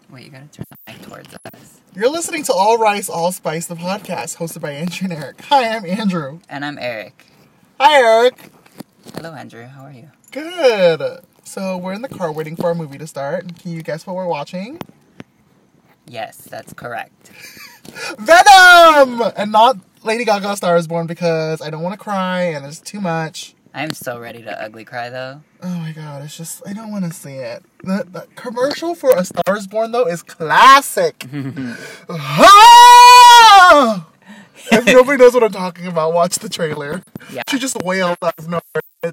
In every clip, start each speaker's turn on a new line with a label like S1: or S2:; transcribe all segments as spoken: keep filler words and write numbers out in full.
S1: Wait, you gotta turn the mic towards us.
S2: You're listening to All Rice, All Spice, the podcast, hosted by Andrew and Eric. Hi, I'm Andrew.
S1: And I'm Eric.
S2: Hi, Eric.
S1: Hello, Andrew. How are you?
S2: Good. So, we're in the car waiting for our movie to start. Can you guess what we're watching?
S1: Yes, that's correct.
S2: Venom! And not Lady Gaga Star is Born because I don't want to cry and it's too much.
S1: I'm so ready to ugly cry, though.
S2: Oh my god, it's just, I don't want to see it. The, the commercial for A Star is Born, though, is classic. Ah! If nobody knows what I'm talking about, watch the trailer.
S1: Yeah.
S2: She just wails out of nowhere.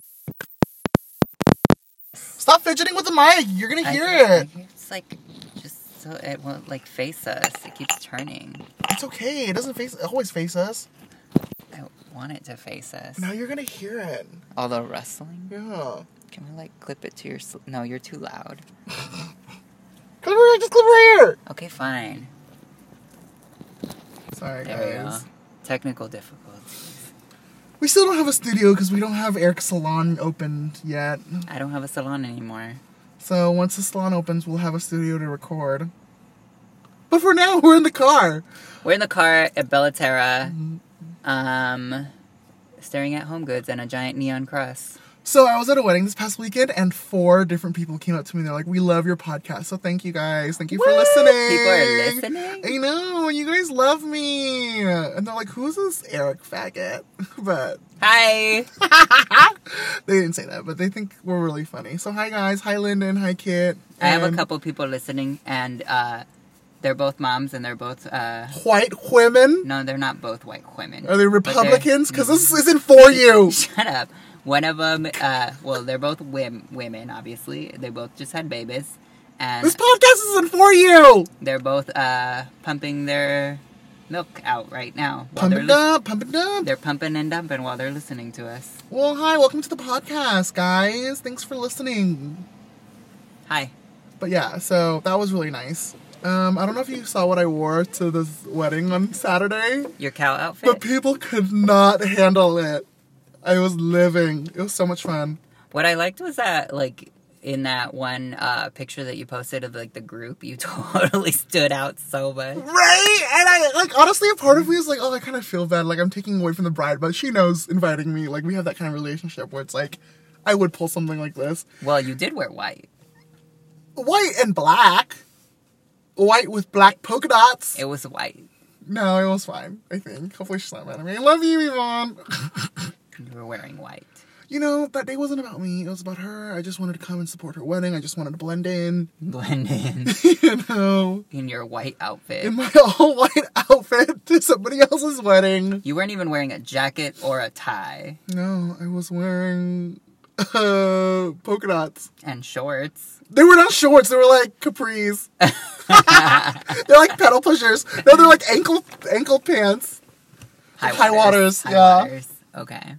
S2: Stop fidgeting with the mic. You're going to hear
S1: I,
S2: it.
S1: I, it's like, just so it won't, like, face us. It keeps turning.
S2: It's okay. It doesn't face, always face us.
S1: I want it to face us.
S2: Now you're going to hear it.
S1: All the rustling?
S2: Yeah.
S1: Can we, like, clip it to your... Sl- no, you're too loud.
S2: Clip right, just clip right here.
S1: Okay, fine.
S2: Sorry,
S1: There we
S2: guys.
S1: go. Technical difficulties.
S2: We still don't have a studio because we don't have Eric's salon opened yet.
S1: I don't have a salon anymore.
S2: So once the salon opens, we'll have a studio to record. But for now, we're in the car.
S1: We're in the car at Bellaterra, um, staring at Home Goods and a giant neon cross.
S2: So I was at a wedding this past weekend, and four different people came up to me. And they're like, "We love your podcast, so thank you guys. Thank you for
S1: What?
S2: listening."
S1: People are listening?
S2: I know, you guys love me. And they're like, "Who's this Eric faggot?" But
S1: Hi!
S2: they didn't say that, but they think we're really funny. So hi guys, hi Lyndon, hi Kit.
S1: I have a
S2: and
S1: couple people listening, and uh, they're both moms, and they're both... Uh,
S2: white women.
S1: no, they're not both white women.
S2: Are they
S1: but they're-
S2: Republicans? Because this isn't for you.
S1: Shut up. One of them, uh, well, they're both wim- women, obviously. They both just had babies. And
S2: This podcast isn't for you.
S1: they're both uh, pumping their milk out right now. while
S2: Pump
S1: they're
S2: it
S1: lis-
S2: up, pump it up.
S1: They're pumping and dumping while they're listening to us.
S2: Well, hi, welcome to the podcast, guys. Thanks for listening.
S1: Hi.
S2: But yeah, so that was really nice. Um, I don't know if you saw what I wore to this wedding on Saturday,
S1: Your cow outfit?
S2: but people could not handle it. I was living. It was so much fun.
S1: What I liked was that, like, in that one uh, picture that you posted of, like, the group, you totally stood out so much.
S2: Right? And I, like, honestly, a part of me is like, oh, I kind of feel bad. Like, I'm taking away from the bride, but she knows inviting me. Like, we have that kind of relationship where it's like, I would pull something like this.
S1: Well, you did wear white.
S2: White and black. White with black polka dots.
S1: It was white.
S2: No, it was fine, I think. Hopefully she's not mad at me. I love you, Yvonne.
S1: You were wearing white.
S2: You know, that day wasn't about me. It was about her. I just wanted to come and support her wedding. I just wanted to blend in.
S1: Blend in
S2: You know,
S1: in your white outfit.
S2: in my all-white outfit to somebody else's wedding.
S1: You weren't even wearing a jacket or a tie.
S2: No, I was wearing uh, polka dots.
S1: And shorts.
S2: They were not shorts. They were like capris. They're like pedal pushers. No, they're like ankle ankle pants. High waters,
S1: High
S2: yeah.
S1: waters. Okay.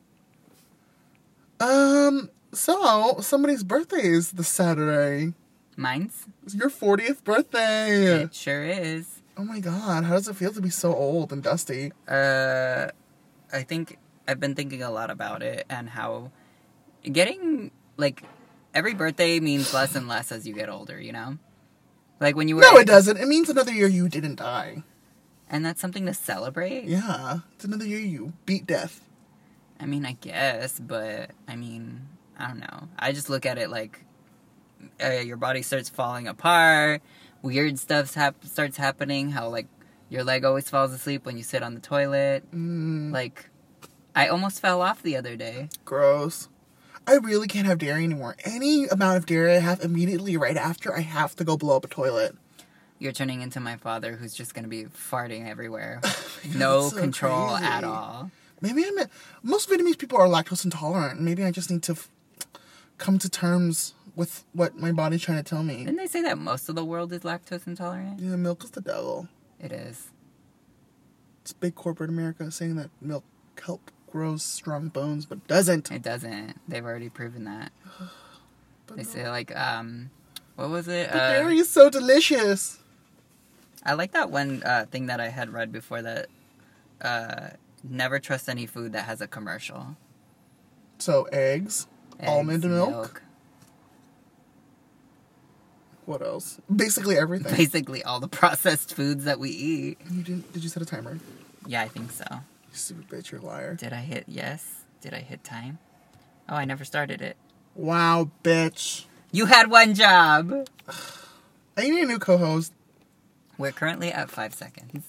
S2: Um. So somebody's birthday is this Saturday.
S1: Mine's?
S2: It's your fortieth birthday.
S1: It sure is.
S2: Oh my god, how does it feel to be so old and dusty?
S1: Uh, I think I've been thinking a lot about it and how getting, like, every birthday means less and less as you get older, you know? Like, when you were...
S2: No, it doesn't. It means another year you didn't die.
S1: And that's something to celebrate?
S2: Yeah, it's another year you beat death.
S1: I mean, I guess, but, I mean, I don't know. I just look at it like uh, your body starts falling apart, weird stuff hap- starts happening, how, like, your leg always falls asleep when you sit on the toilet.
S2: Mm,
S1: Like, I almost fell off the other day.
S2: gross. I really can't have dairy anymore. Any amount of dairy I have immediately right after, I have to go blow up a toilet.
S1: You're turning into my father who's just going to be farting everywhere. No
S2: that's so
S1: control
S2: crazy.
S1: at all.
S2: Maybe I'm... Most Vietnamese people are lactose intolerant. Maybe I just need to f- come to terms with what my body's trying to tell me.
S1: Didn't they say that most of the world is lactose intolerant?
S2: Yeah, milk is the devil.
S1: It is.
S2: It's big corporate America saying that milk help grows strong bones, but doesn't.
S1: It doesn't. They've already proven that.
S2: But
S1: They
S2: no.
S1: say, like, um... What was it?
S2: The
S1: Uh,
S2: dairy is so delicious.
S1: I like that one uh, thing that I had read before that... Uh, never trust any food that has a commercial.
S2: So, eggs,
S1: Eggs,
S2: almond milk. What else? Basically everything.
S1: Basically all the processed foods that we eat.
S2: You didn't? Did you set a timer?
S1: Yeah, I think so.
S2: You stupid bitch, you're a liar.
S1: Did I hit yes? Did I hit time? Oh, I never started it.
S2: Wow, bitch.
S1: You had one job.
S2: I need a new co-host.
S1: We're currently at five seconds.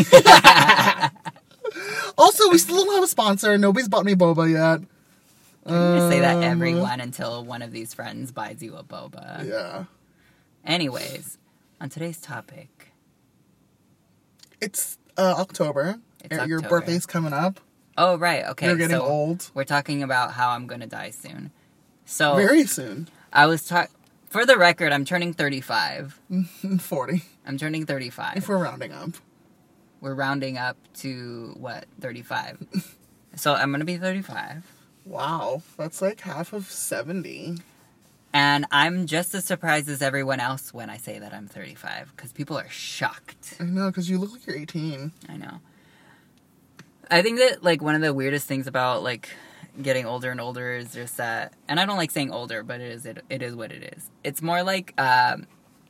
S2: Also, we still don't have a sponsor. Nobody's bought me boba yet.
S1: I'm gonna say that
S2: Um,
S1: everyone until one of these friends buys you a boba.
S2: Yeah.
S1: Anyways, on today's topic.
S2: It's uh, October.
S1: It's
S2: Your
S1: October.
S2: birthday's coming up.
S1: Oh, right. Okay.
S2: You're getting
S1: so
S2: old.
S1: We're talking about how I'm gonna die soon. So
S2: Very soon.
S1: I was talking. For the record, I'm turning thirty-five.
S2: forty.
S1: I'm turning thirty-five.
S2: If we're rounding up.
S1: We're rounding up to what? thirty-five. So I'm gonna be thirty-five.
S2: Wow. That's like half of seventy.
S1: And I'm just as surprised as everyone else when I say that I'm thirty-five, because people are shocked.
S2: I know, because you look like you're eighteen.
S1: I know. I think that, like, one of the weirdest things about, like, getting older and older is just that, and I don't like saying older, but it is it, it is what it is. It's more like um,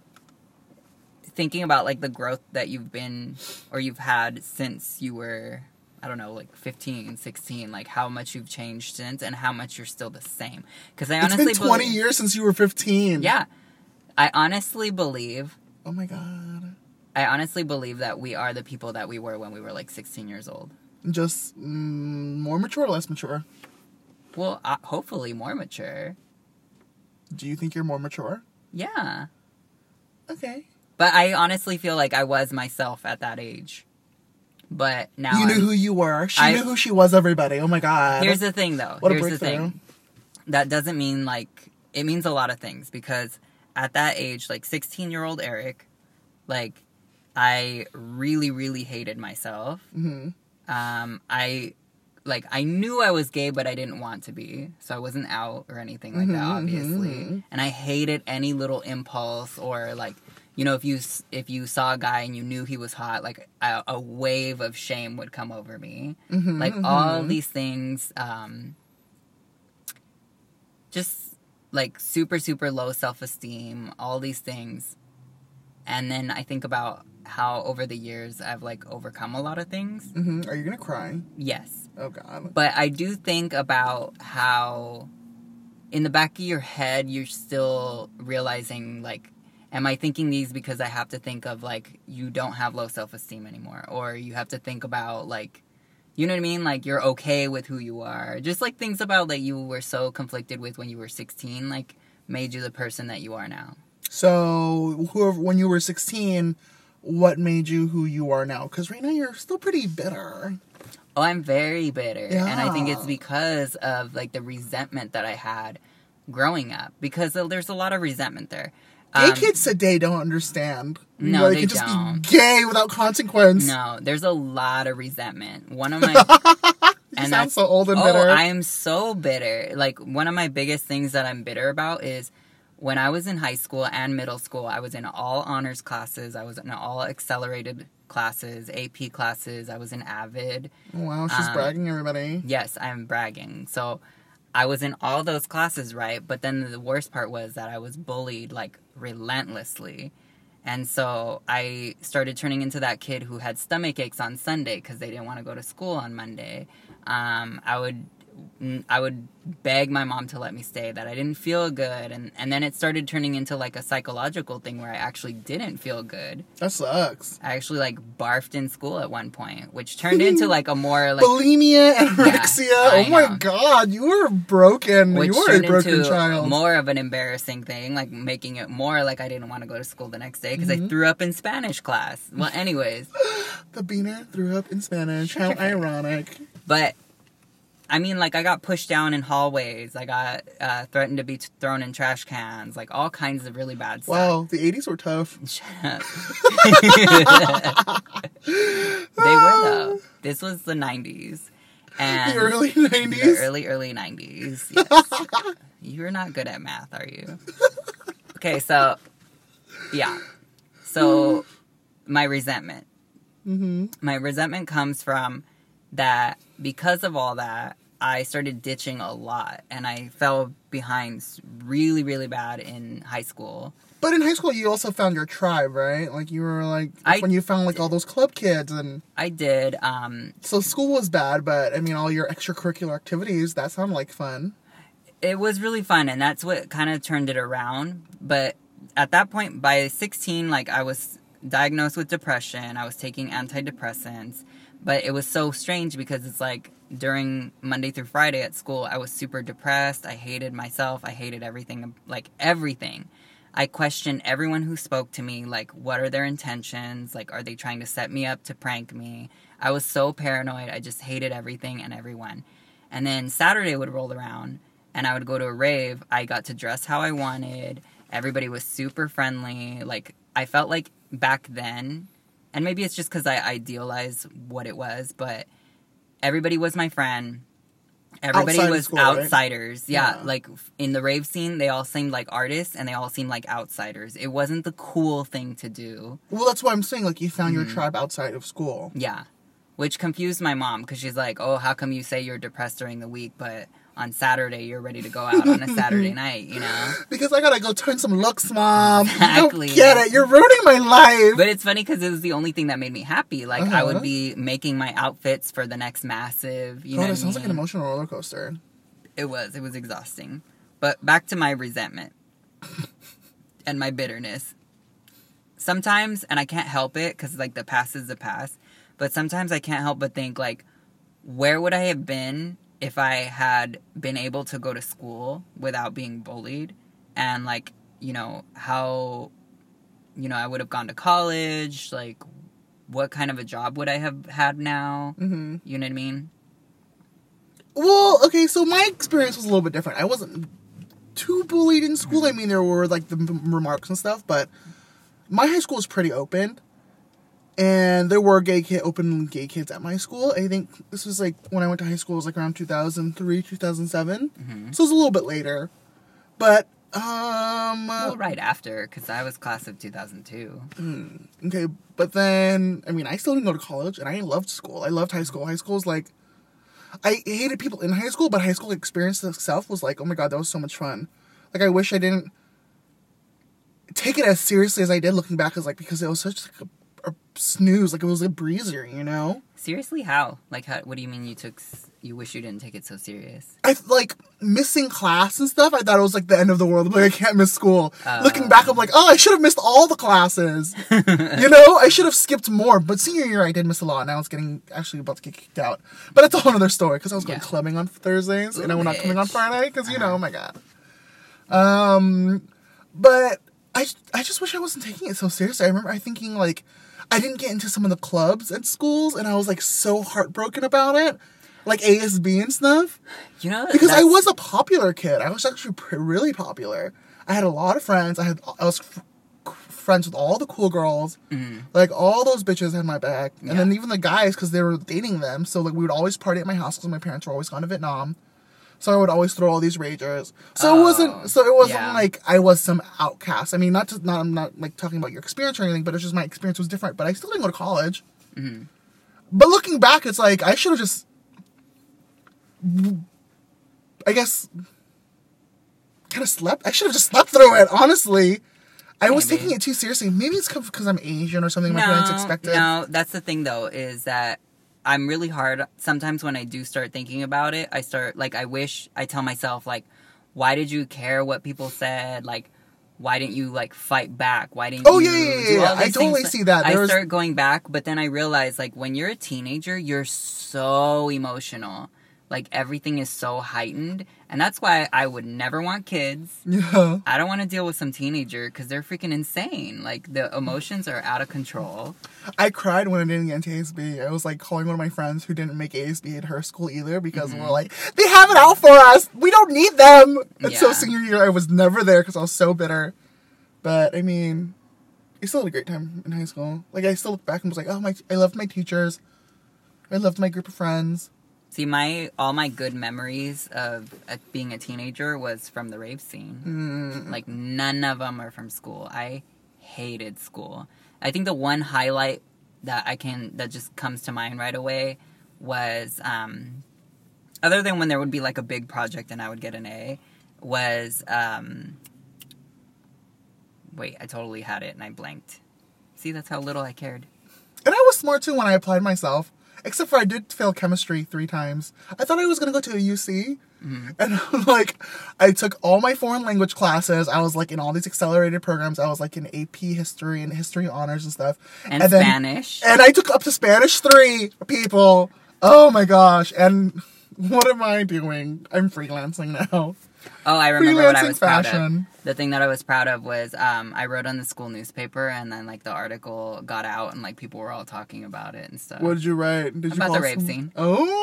S1: thinking about, like, the growth that you've been, or you've had since you were, I don't know, like fifteen, sixteen, like how much you've changed since and how much you're still the same. Because I
S2: It's
S1: honestly
S2: been twenty
S1: believe,
S2: years since you were fifteen.
S1: Yeah. I honestly believe,
S2: Oh my god.
S1: I honestly believe that we are the people that we were when we were like sixteen years old.
S2: Just mm, more mature or less mature?
S1: Well, uh, hopefully more mature.
S2: Do you think you're more mature?
S1: Yeah.
S2: Okay.
S1: But I honestly feel like I was myself at that age. But now
S2: You knew
S1: I'm-
S2: who you were. She
S1: I-
S2: knew who she was, everybody. Oh my god.
S1: Here's the thing, though.
S2: What a
S1: Here's the
S2: breakthrough.
S1: thing. That doesn't mean, like... It means a lot of things. Because at that age, like, sixteen-year-old Eric, like, I really, really hated myself.
S2: Mm-hmm.
S1: Um, I... Like, I knew I was gay, but I didn't want to be. So I wasn't out or anything like that,
S2: Mhm,
S1: obviously.
S2: mhm.
S1: And I hated any little impulse or, like... You know, if you if you saw a guy and you knew he was hot, like, a, a wave of shame would come over me.
S2: Mm-hmm,
S1: Like,
S2: mm-hmm.
S1: all these things, um, just, like, super, super low self-esteem, all these things. And then I think about how, over the years, I've, like, overcome a lot of things.
S2: Mm-hmm. Are you gonna cry?
S1: Yes.
S2: Oh god.
S1: But I do think about how, in the back of your head, you're still realizing, like, am I thinking these because I have to think of, like, you don't have low self-esteem anymore? Or you have to think about, like, you know what I mean? Like, you're okay with who you are. Just, like, things about that you were so conflicted with when you were sixteen, like, made you the person that you are now.
S2: So, whoever, when you were sixteen, what made you who you are now? Because right now you're still pretty bitter.
S1: Oh, I'm very bitter. And I think it's
S2: Yeah.
S1: because of, like, the resentment that I had growing up. Because there's a lot of resentment there.
S2: Gay
S1: Um,
S2: kids today don't understand.
S1: No,
S2: Like,
S1: they
S2: can just
S1: don't.
S2: be gay without consequence.
S1: No, there's a lot of resentment. One of my
S2: You
S1: and
S2: sound
S1: that's
S2: so old and
S1: oh,
S2: bitter.
S1: I am so bitter. Like, one of my biggest things that I'm bitter about is when I was in high school and middle school, I was in all honors classes. I was in all accelerated classes, A P classes. I was in AVID.
S2: Wow, she's
S1: um,
S2: bragging, everybody.
S1: Yes, I'm bragging. So I was in all those classes, right? But then the worst part was that I was bullied, like, relentlessly. And so I started turning into that kid who had stomach aches on Sunday because they didn't want to go to school on Monday. Um, I would I would beg my mom to let me stay, that I didn't feel good. And, and then it started turning into, like, a psychological thing where I actually didn't feel good.
S2: That sucks.
S1: I actually, like, barfed in school at one point, which turned into, like, a more, like...
S2: Bulimia, anorexia.
S1: I
S2: oh my
S1: know.
S2: god, you were broken.
S1: Which
S2: you were a
S1: turned
S2: broken
S1: into
S2: child.
S1: more of an embarrassing thing, like making it more like I didn't want to go to school the next day because I threw up in Spanish class. Well, anyways,
S2: The beaner threw up in Spanish. How ironic.
S1: but I mean, like, I got pushed down in hallways. I got uh, threatened to be t- thrown in trash cans, like all kinds of really bad stuff.
S2: Wow, the eighties were tough.
S1: Shut up. They were though. This was the nineties. And
S2: The early
S1: The
S2: nineties.
S1: early, early nineties. Yes. You're not good at math, are you? Okay, so, yeah. So, my resentment.
S2: Mm-hmm.
S1: My resentment comes from that because of all that, I started ditching a lot, and I fell behind really, really bad in high school.
S2: But in high school, you also found your tribe, right? Like, you were, like, that's
S1: I
S2: when you found, like, all those club kids, and...
S1: I did. Um,
S2: So school was bad, but, I mean, all your extracurricular activities, that sounded like fun.
S1: it was really fun, and that's what kind of turned it around. But at that point, by sixteen, like, I was diagnosed with depression. I was taking antidepressants. But it was so strange because it's like during Monday through Friday at school, I was super depressed. I hated myself. I hated everything, like everything. I questioned everyone who spoke to me, like, what are their intentions? Like, are they trying to set me up to prank me? I was so paranoid. I just hated everything and everyone. And then Saturday would roll around, and I would go to a rave. I got to dress how I wanted. Everybody was super friendly. Like, I felt like back then... And maybe it's just because I idealize what it was, but everybody was my friend. Everybody
S2: Outside of
S1: was
S2: school,
S1: outsiders.
S2: right?
S1: Yeah,
S2: Yeah.
S1: like in the rave scene, they all seemed like artists and they all seemed like outsiders. It wasn't the cool thing to do.
S2: Well, that's why I'm saying, like, you found
S1: Mm-hmm.
S2: your tribe outside of school.
S1: Yeah, which confused my mom because she's like, oh, how come you say you're depressed during the week, but on Saturday you're ready to go out on a Saturday night, you know?
S2: Because I gotta go turn some looks, Mom.
S1: Exactly.
S2: You don't get it. You're ruining my life.
S1: But it's funny because it was the only thing that made me happy. Like, I
S2: Uh-huh.
S1: would be making my outfits for the next massive, you know
S2: God,
S1: what
S2: it
S1: I
S2: sounds like an
S1: mean?
S2: emotional roller coaster.
S1: It was. It was exhausting. But back to my resentment and my bitterness. Sometimes, and I can't help it because, like, the past is the past, but sometimes I can't help but think, like, where would I have been if I had been able to go to school without being bullied? And, like, you know, how, you know, I would have gone to college, like, what kind of a job would I have had now?
S2: Mm-hmm.
S1: You know what I mean?
S2: Well, okay, so my experience was a little bit different. I wasn't too bullied in school. I mean, there were, like, the m- remarks and stuff, but my high school was pretty open. And there were gay kid, open gay kids at my school. I think this was, like, when I went to high school, it was, like, around two thousand three, two thousand seven.
S1: Mm-hmm.
S2: So it was a little bit later. But, um...
S1: Well, right after, because I was class of two thousand two.
S2: Okay, but then, I mean, I still didn't go to college, and I loved school. I loved high school. High school was, like... I hated people in high school, but high school experience itself was like, oh my god, that was so much fun. Like, I wish I didn't take it as seriously as I did looking back, as like, because it was such like a, a snooze, like it was a breezer, you know?
S1: Seriously, how? Like, how, what do you mean you took? s- You wish you didn't take it so serious?
S2: I, like, missing class and stuff, I thought it was like the end of the world. Like, I can't miss school.
S1: Oh.
S2: Looking back, I'm like, oh, I should have missed all the classes. You know? I should have skipped more. But senior year, I did miss a lot, and I was getting, actually about to get kicked out. But it's a whole other story, because I was going
S1: Yeah.
S2: clubbing on Thursdays, and
S1: Ooh,
S2: I'm not coming on
S1: bitch.
S2: Friday, because, you know,
S1: Uh-huh.
S2: oh my god. Um, but I, I just wish I wasn't taking it so seriously. I remember I thinking, like, I didn't get into some of the clubs at schools, and I was, like, so heartbroken about it. Like A S B and stuff.
S1: You know,
S2: Because I
S1: that's-
S2: was a popular kid. I was actually pr- really popular. I had a lot of friends. I had I was f- friends with all the cool girls.
S1: Mhm.
S2: Like, all those bitches had my back. And
S1: Yeah.
S2: then even the guys, because they were dating them. So, like, we would always party at my house because my parents were always gone to Vietnam. So I would always throw all these ragers. So it
S1: Oh,
S2: wasn't. So it wasn't
S1: yeah.
S2: like I was some outcast. I mean, not to, not I'm not like talking about your experience or anything, but it's just my experience was different. But I still didn't go to college.
S1: Mhm.
S2: But looking back, it's like I should have just, I guess, kind of slept. I should have just slept through it. Honestly, I was
S1: Maybe.
S2: taking it too seriously. Maybe it's because I'm Asian or something. My parents expected.
S1: No, that's the thing though, is that I'm really hard. Sometimes when I do start thinking about it, I start, like, I wish, I tell myself, like, why did you care what people said? Like, why didn't you, like, fight back? Why didn't
S2: Oh,
S1: you
S2: yeah, yeah, yeah,
S1: do
S2: yeah.
S1: all
S2: I
S1: these
S2: totally
S1: things?
S2: see that.
S1: I
S2: There was-
S1: start going back, but then I realize, like, when you're a teenager, you're so emotional. Like, everything is so heightened. And that's why I would never want kids.
S2: Yeah.
S1: I don't want to deal with some teenager because they're freaking insane. Like, the emotions are out of control.
S2: I cried when I didn't get into A S B. I was like calling one of my friends who didn't make A S B at her school either because
S1: Mm-hmm.
S2: we're like, they have it out for us. We don't need them. And so
S1: Yeah.
S2: senior year, I was never there because I was so bitter. But I mean, I still had a great time in high school. Like, I still look back and was like, oh my, I loved my teachers. I loved my group of friends.
S1: See, my all my good memories of uh, being a teenager was from the rave scene.
S2: Mm.
S1: Like, none of them are from school. I hated school. I think the one highlight that I can that just comes to mind right away was um, other than when there would be like a big project and I would get an A, was um. Wait, I totally had it and I blanked. See, that's how little I cared.
S2: And I was smart too when I applied myself. Except for I did fail chemistry three times. I thought I was going to go to a U C. Mm-hmm. And like, I took all my foreign language classes. I was like in all these accelerated programs. I was like in A P history and history honors and stuff.
S1: And, and Spanish.
S2: Then, and I took up to Spanish three, people. Oh my gosh. And what am I doing? I'm freelancing now.
S1: Oh, I remember what I was proud of. The thing that I was proud of was um, I wrote on the school newspaper, and then like the article got out, and like people were all talking about it and stuff.
S2: What did you write? Did
S1: about
S2: you
S1: the rave
S2: some...
S1: scene?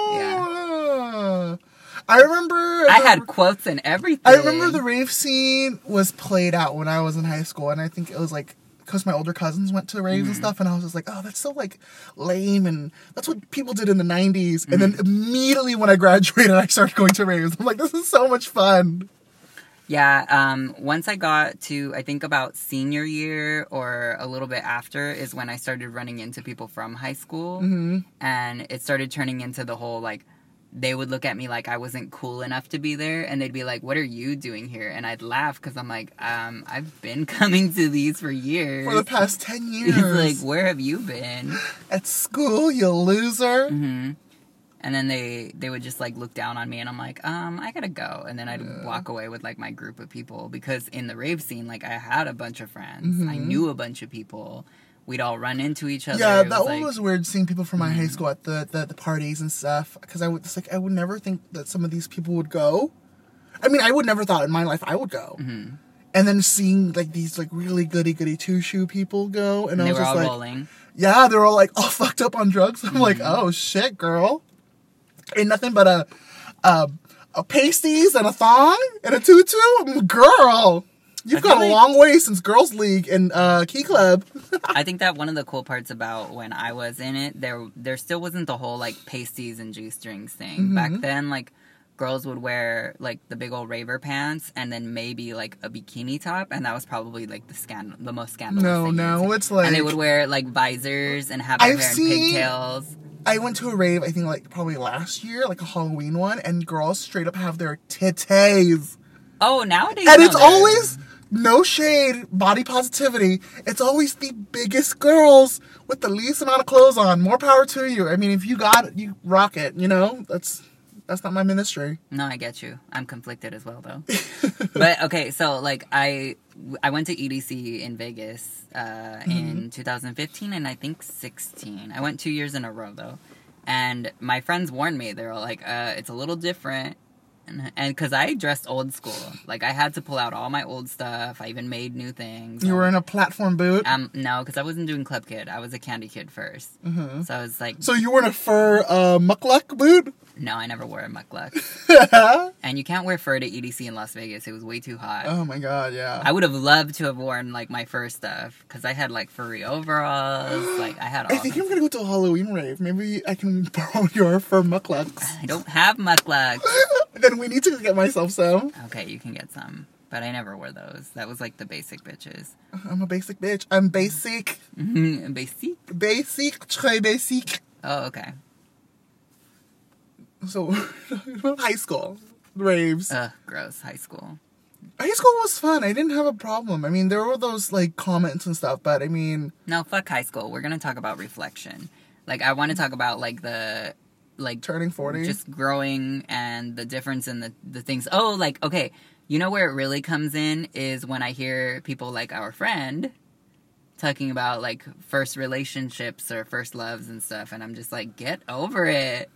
S2: Oh, yeah. I remember.
S1: I the... had quotes and everything.
S2: I remember the rave scene was played out when I was in high school, and I think it was like because my older cousins went to raves mm-hmm. and stuff, and I was just like, oh, that's so like lame, and that's what people did in the nineties. Mm-hmm. And then immediately when I graduated, I started going to raves. I'm like, this is so much fun.
S1: Yeah, um, once I got to, I think about senior year or a little bit after is when I started running into people from high school.
S2: Mm-hmm.
S1: And it started turning into the whole, like, they would look at me like I wasn't cool enough to be there. And they'd be like, what are you doing here? And I'd laugh because I'm like, um, I've been coming to these for years.
S2: For the past ten years.
S1: Like, where have you been?
S2: At school, you loser.
S1: Mm-hmm. And then they, they would just, like, look down on me, and I'm like, um, I gotta go. And then I'd yeah. walk away with, like, my group of people. Because in the rave scene, like, I had a bunch of friends.
S2: Mm-hmm.
S1: I knew a bunch of people. We'd all run into each other.
S2: Yeah,
S1: it
S2: that
S1: was,
S2: one
S1: like,
S2: was weird, seeing people from my
S1: mm-hmm.
S2: high school at the, the, the parties and stuff. Because I would, it's like, I would never think that some of these people would go. I mean, I would never thought in my life I would go.
S1: Mm-hmm.
S2: And then seeing, like, these, like, really goody-goody two-shoe people go. And,
S1: and
S2: I
S1: they
S2: was
S1: were
S2: just
S1: all
S2: like,
S1: rolling.
S2: Yeah, they're all, like, all fucked up on drugs. I'm mm-hmm. like, oh, shit, girl. Ain't nothing but a, a, a pasties and a thong and a tutu? Girl, you've got like, a long way since Girls League and uh, Key Club.
S1: I think that one of the cool parts about when I was in it, there there still wasn't the whole, like, pasties and G-strings thing. Mm-hmm. Back then, like, girls would wear, like, the big old raver pants and then maybe, like, a bikini top, and that was probably, like, the scandal, the most scandalous
S2: no,
S1: thing.
S2: No, no, it's like...
S1: And they would wear, like, visors and have their
S2: I've
S1: hair
S2: seen...
S1: in pigtails.
S2: I went to a rave, I think, like, probably last year, like a Halloween one, and girls straight up have their titties.
S1: Oh, nowadays.
S2: And it's always, no shade, body positivity. It's always the biggest girls with the least amount of clothes on. More power to you. I mean, if you got it, you rock it, you know? That's that's not my ministry.
S1: No, I get you. I'm conflicted as well, though. But, okay, so, like, I I went to E D C in Vegas uh, mm-hmm. in two thousand fifteen and I think sixteen. I went two years in a row, though. And my friends warned me. They were like, uh, it's a little different. And because I dressed old school. Like, I had to pull out all my old stuff. I even made new things.
S2: You were in a platform boot?
S1: Um, no, because I wasn't doing Club Kid. I was a Candy Kid first.
S2: Mm-hmm.
S1: So I was like...
S2: So you were in a fur uh, mukluk boot?
S1: No, I never wore a mukluk. And you can't wear fur to E D C in Las Vegas. It was way too hot.
S2: Oh, my God, yeah.
S1: I would have loved to have worn, like, my fur stuff. Because I had, like, furry overalls. Like, I had all
S2: I think I'm going to go to a Halloween rave. Maybe I can borrow your fur mukluks.
S1: I don't have mukluks.
S2: Then we need to get myself some.
S1: Okay, you can get some. But I never wore those. That was like the basic bitches.
S2: I'm a basic bitch. I'm basic.
S1: Mm-hmm. Basic?
S2: Basic. Très basic.
S1: Oh, okay.
S2: So, high school. Raves.
S1: Ugh, gross. High school.
S2: High school was fun. I didn't have a problem. I mean, there were those, like, comments and stuff, but I mean...
S1: No, fuck high school. We're gonna talk about reflection. Like, I want to talk about, like, the... like
S2: turning forty,
S1: just growing and the difference in the, the things. Oh, like, okay, you know where it really comes in is when I hear people like our friend talking about, like, first relationships or first loves and stuff, and I'm just like, get over it.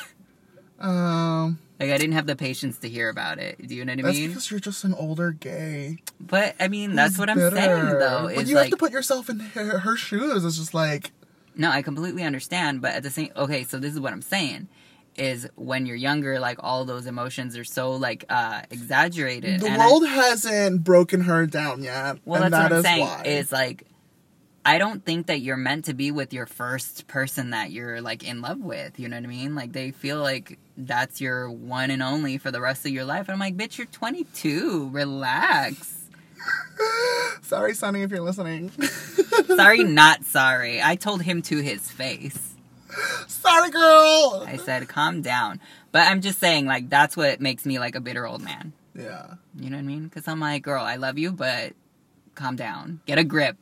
S2: um
S1: like, I didn't have the patience to hear about it. Do you know what I
S2: that's
S1: mean?
S2: Because you're just an older gay.
S1: But I mean, that's
S2: Who's
S1: what I'm
S2: bitter?
S1: saying, though.
S2: But
S1: is
S2: you
S1: like,
S2: have to put yourself in her, her shoes. It's just like...
S1: No, I completely understand, but at the same... Okay, so this is what I'm saying, is when you're younger, like, all those emotions are so, like, uh, exaggerated.
S2: The
S1: and
S2: world
S1: I,
S2: hasn't broken her down yet.
S1: Well,
S2: and
S1: that's
S2: that
S1: what I'm
S2: is
S1: saying,
S2: why.
S1: is, like, I don't think that you're meant to be with your first person that you're, like, in love with, you know what I mean? Like, they feel like that's your one and only for the rest of your life, and I'm like, bitch, you're twenty-two, relax.
S2: Sorry, Sonny, if you're listening.
S1: Sorry, not sorry. I told him to his face.
S2: Sorry, girl.
S1: I said, calm down. But I'm just saying, like, that's what makes me, like, a bitter old man.
S2: Yeah.
S1: You know what I mean? Because I'm like, girl, I love you, but calm down. Get a grip.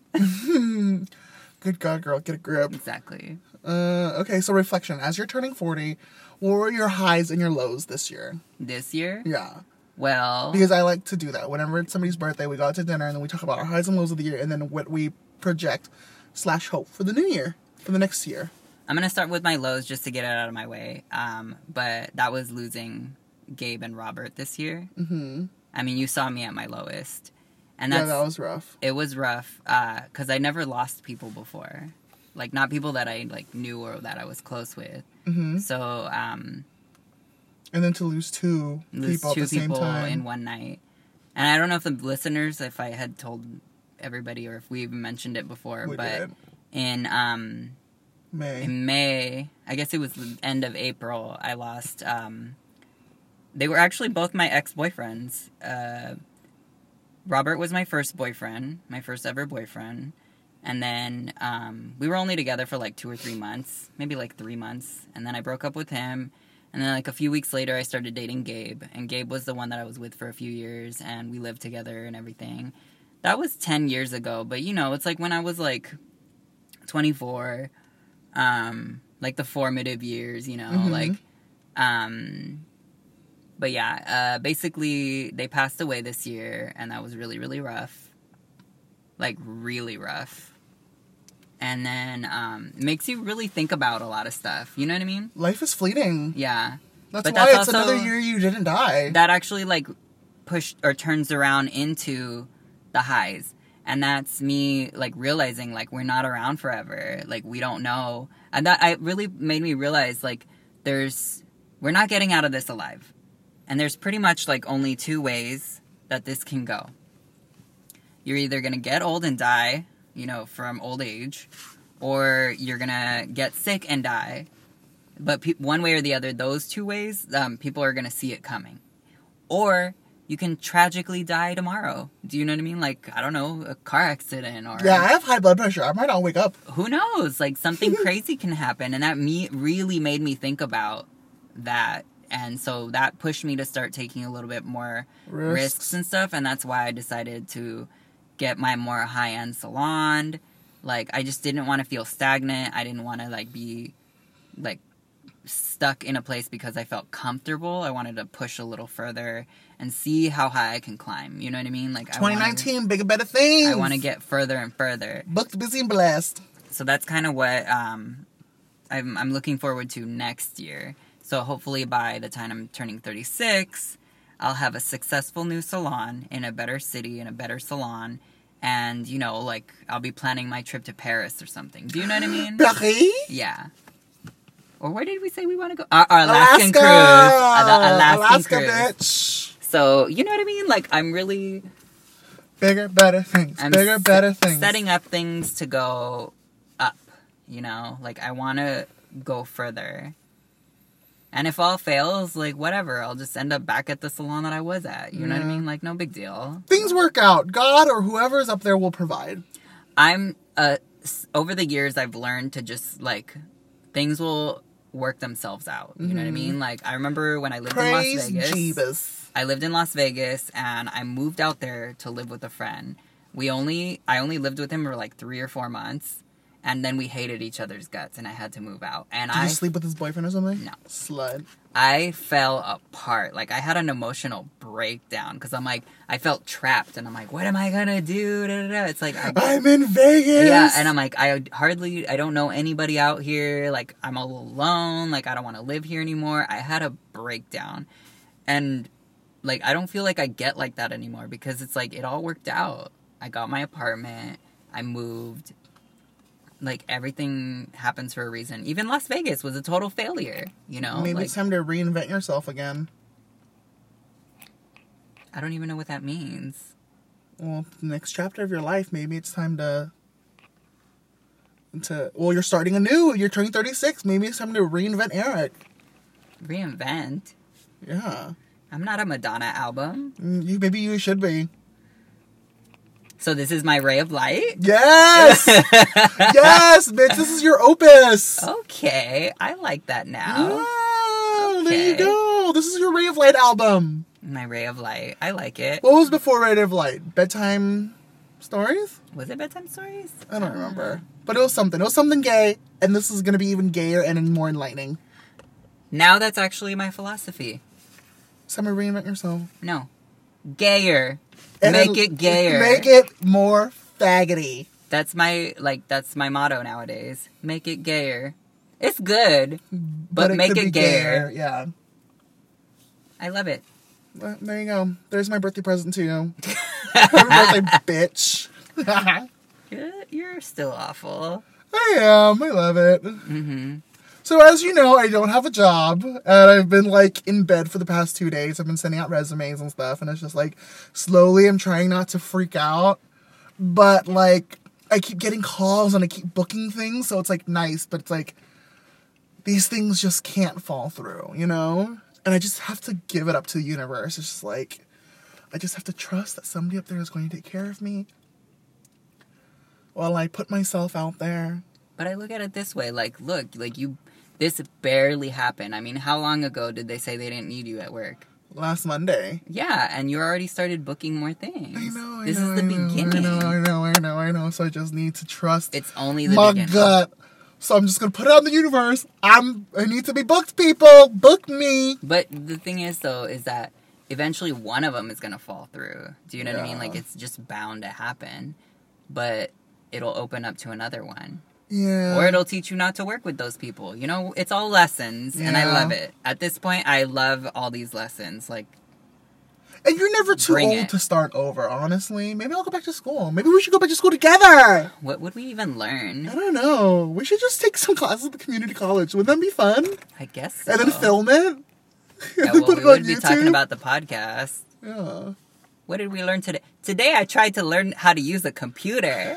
S2: Good God, girl, get a grip.
S1: Exactly.
S2: Uh, okay, so reflection. As you're turning forty, what were your highs and your lows this year?
S1: This year?
S2: Yeah.
S1: Well...
S2: Because I like to do that. Whenever it's somebody's birthday, we go out to dinner, and then we talk about our highs and lows of the year, and then what we project slash hope for the new year, for the next year.
S1: I'm going to start with my lows just to get it out of my way. Um, but that was losing Gabe and Robert this year.
S2: Mm-hmm.
S1: I mean, you saw me at my lowest. And that's,
S2: yeah, that was rough.
S1: It was rough because uh, I never lost people before. Like, not people that I, like, knew or that I was close with.
S2: Mm-hmm.
S1: So, um...
S2: And then to lose two
S1: lose
S2: people
S1: two
S2: at the same
S1: people
S2: time.
S1: in one night. And I don't know if the listeners, if I had told everybody or if we even mentioned it before,
S2: We
S1: but
S2: did.
S1: in um
S2: May.
S1: in May, I guess it was the end of April, I lost um they were actually both my ex-boyfriends. Uh Robert was my first boyfriend, my first ever boyfriend. And then um we were only together for like two or three months, maybe like three months. And then I broke up with him. And then, like, a few weeks later, I started dating Gabe. And Gabe was the one that I was with for a few years. And we lived together and everything. That was ten years ago. But, you know, it's like when I was, like, twenty-four. Um, like, the formative years, you know.
S2: Mm-hmm.
S1: Like, um... But, yeah, uh, basically, they passed away this year. And that was really, really rough. Like, really rough. And then, um, it makes you really think about a lot of stuff. You know what I mean?
S2: Life is fleeting.
S1: Yeah.
S2: That's
S1: But
S2: why
S1: that's
S2: it's
S1: also-
S2: another year you didn't die.
S1: That actually, like, pushed or turns around into the highs. And that's me, like, realizing, like, we're not around forever. Like, we don't know. And that I really made me realize, like, there's... We're not getting out of this alive. And there's pretty much, like, only two ways that this can go. You're either going to get old and die... you know, from old age, or you're gonna get sick and die. But pe- one way or the other, those two ways, um, people are gonna see it coming. Or you can tragically die tomorrow. Do you know what I mean? Like, I don't know, a car accident or...
S2: Yeah, I have high blood pressure. I might not wake up.
S1: Who knows? Like, something crazy can happen. And that me really made me think about that. And so that pushed me to start taking a little bit more
S2: Risks.
S1: risks and stuff. And that's why I decided to get my more high-end salon. Like, I just didn't want to feel stagnant. I didn't want to, like, be, like, stuck in a place because I felt comfortable. I wanted to push a little further and see how high I can climb. You know what I mean? Like,
S2: twenty nineteen, bigger, better things.
S1: I want to get further and further.
S2: Booked, busy, and blessed.
S1: So that's kind of what um, I'm, I'm looking forward to next year. So hopefully by the time I'm turning thirty-six... I'll have a successful new salon in a better city, in a better salon. And, you know, like, I'll be planning my trip to Paris or something. Do you know what I mean?
S2: Paris?
S1: Yeah. Or where did we say we want to go? Our, our Alaskan
S2: Alaska!
S1: cruise. Uh, the Alaskan
S2: Alaska,
S1: cruise.
S2: bitch.
S1: So, you know what I mean? Like, I'm really...
S2: Bigger, better things.
S1: I'm
S2: Bigger,
S1: s-
S2: better things.
S1: setting up things to go up, you know? Like, I want to go further. And if all fails, like, whatever. I'll just end up back at the salon that I was at. You know what I
S2: Yeah.
S1: mean? Like, no big deal.
S2: Things work out. God or whoever is up there will provide.
S1: I'm, uh, s- over the years, I've learned to just, like, things will work themselves out. You know what I mean? Like, I remember when I lived in Las
S2: Praise
S1: Vegas.
S2: Jeebus.
S1: I lived in Las Vegas, and I moved out there to live with a friend. We only, I only lived with him for, like, three or four months. And then we hated each other's guts, and I had to move out. And
S2: Did
S1: I
S2: you sleep with his boyfriend or something?
S1: No.
S2: Slut.
S1: I fell apart. Like, I had an emotional breakdown because I'm like, I felt trapped, and I'm like, what am I gonna do? Da, da, da. It's like, I,
S2: I'm in Vegas.
S1: yeah, and I'm like, I hardly, I don't know anybody out here. Like, I'm all alone. Like, I don't want to live here anymore. I had a breakdown, and like, I don't feel like I get like that anymore because it's like it all worked out. I got my apartment. I moved. Like, everything happens for a reason. Even Las Vegas was a total failure, you know?
S2: Maybe
S1: like,
S2: it's time to reinvent yourself again.
S1: I don't even know what that means.
S2: Well, the next chapter of your life, maybe it's time to... to well, you're starting anew. You're turning thirty-six. Maybe it's time to reinvent Eric.
S1: Reinvent?
S2: Yeah.
S1: I'm not a Madonna album.
S2: Mm, You, maybe you should be.
S1: So this is my ray of light?
S2: Yes! Yes, bitch, this is your opus!
S1: Okay, I like that now.
S2: Yeah. there you go. This is your Ray of Light album.
S1: My Ray of Light. I like it.
S2: What was before Ray of Light? Bedtime stories?
S1: Was it Bedtime Stories?
S2: I don't remember. But it was something. It was something gay, and this is going to be even gayer and more enlightening.
S1: Now that's actually my philosophy.
S2: Summer, reinvent yourself.
S1: No. Gayer.
S2: And
S1: Make it gayer.
S2: Make it more faggoty.
S1: That's my, like, that's my motto nowadays. Make it gayer. It's good, but,
S2: it
S1: make
S2: could
S1: it
S2: be
S1: gayer.
S2: Yeah.
S1: I love it.
S2: Well, there you go. There's my birthday present to you. Happy birthday, bitch.
S1: You're, you're still awful.
S2: I am. I love it.
S1: Mm-hmm.
S2: So as you know, I don't have a job, and I've been, like, in bed for the past two days. I've been sending out resumes and stuff, and it's just, like, slowly I'm trying not to freak out. But, like, I keep getting calls, and I keep booking things, so it's, like, nice, but it's, like, these things just can't fall through, you know? And I just have to give it up to the universe. It's just, like, I just have to trust that somebody up there is going to take care of me while I put myself out there.
S1: But I look at it this way, like, look, like, you... This barely happened. I mean, how long ago did they say they didn't need you at work?
S2: Last Monday.
S1: Yeah, and you already started booking more things.
S2: I know, I
S1: this
S2: know,
S1: is the
S2: I know,
S1: beginning.
S2: I know, I know, I know, I know. So I just need to trust
S1: It's only the
S2: my
S1: beginning.
S2: gut. So I'm just gonna put it on the universe. I'm. I need to be booked, people. Book me.
S1: But the thing is, though, is that eventually one of them is going to fall through. Do you know what I mean?
S2: Yeah.
S1: Like, it's just bound to happen. But it'll open up to another one.
S2: Yeah.
S1: Or it'll teach you not to work with those people. You know, it's all lessons, and I
S2: Yeah.
S1: love it. At this point, I love all these lessons. Like,
S2: And you're never too
S1: Bring
S2: old
S1: it.
S2: to start over, honestly. Maybe I'll go back to school. Maybe we should go back to school together.
S1: what would we even learn?
S2: I don't know. We should just take some classes at the community college. Wouldn't that be fun?
S1: I guess so.
S2: And then film it.
S1: Yeah,
S2: And then
S1: well,
S2: put
S1: we
S2: it on
S1: would be talking
S2: YouTube.
S1: about the podcast.
S2: Yeah.
S1: What did we learn today? Today I tried to learn how to use a computer.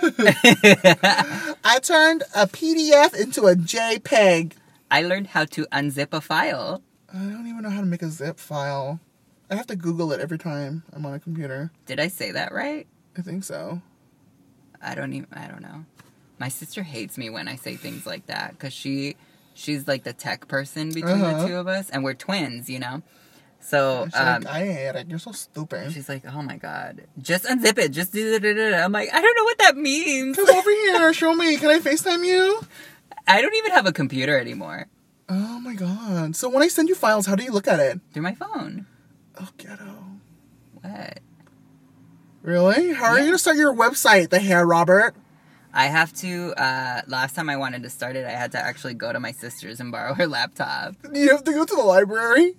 S2: I turned a P D F into a JPEG.
S1: I learned how to unzip a file.
S2: I don't even know how to make a zip file. I have to Google it every time I'm on a computer.
S1: Did I say that right?
S2: I think so.
S1: I don't even, I don't know. My sister hates me when I say things like that because she, she's like the tech person between
S2: Uh-huh.
S1: the two of us, and we're twins, you know? So,
S2: She's
S1: um,
S2: like, I hate it. You're so stupid.
S1: she's like, oh my god, just unzip it, just do it. I'm like, I don't know what that means.
S2: Come over here. Show me. Can I FaceTime you?
S1: I don't even have a computer anymore.
S2: Oh my god. So when I send you files, how do you look at it?
S1: Through my phone.
S2: Oh, ghetto.
S1: What?
S2: Really? How are
S1: Yeah.
S2: you going to start your website, The Hair Robert?
S1: I have to, uh, last time I wanted to start it, I had to actually go to my sister's and borrow her laptop.
S2: You have to go to the library?